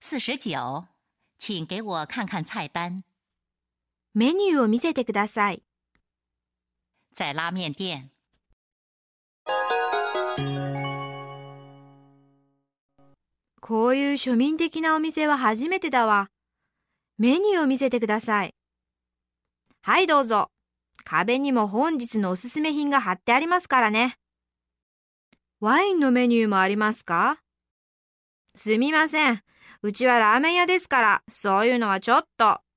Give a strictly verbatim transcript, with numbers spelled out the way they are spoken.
四十九，请给我看看菜单。 メニューを見せてください。 在拉面店。 こういう庶民的なお店は初めてだわ。メニューを見せてください。はい、どうぞ。壁にも本日のおすすめ品が貼ってありますからね。ワインのメニューもありますか？すみません。うちはラーメン屋ですから、そういうのはちょっと。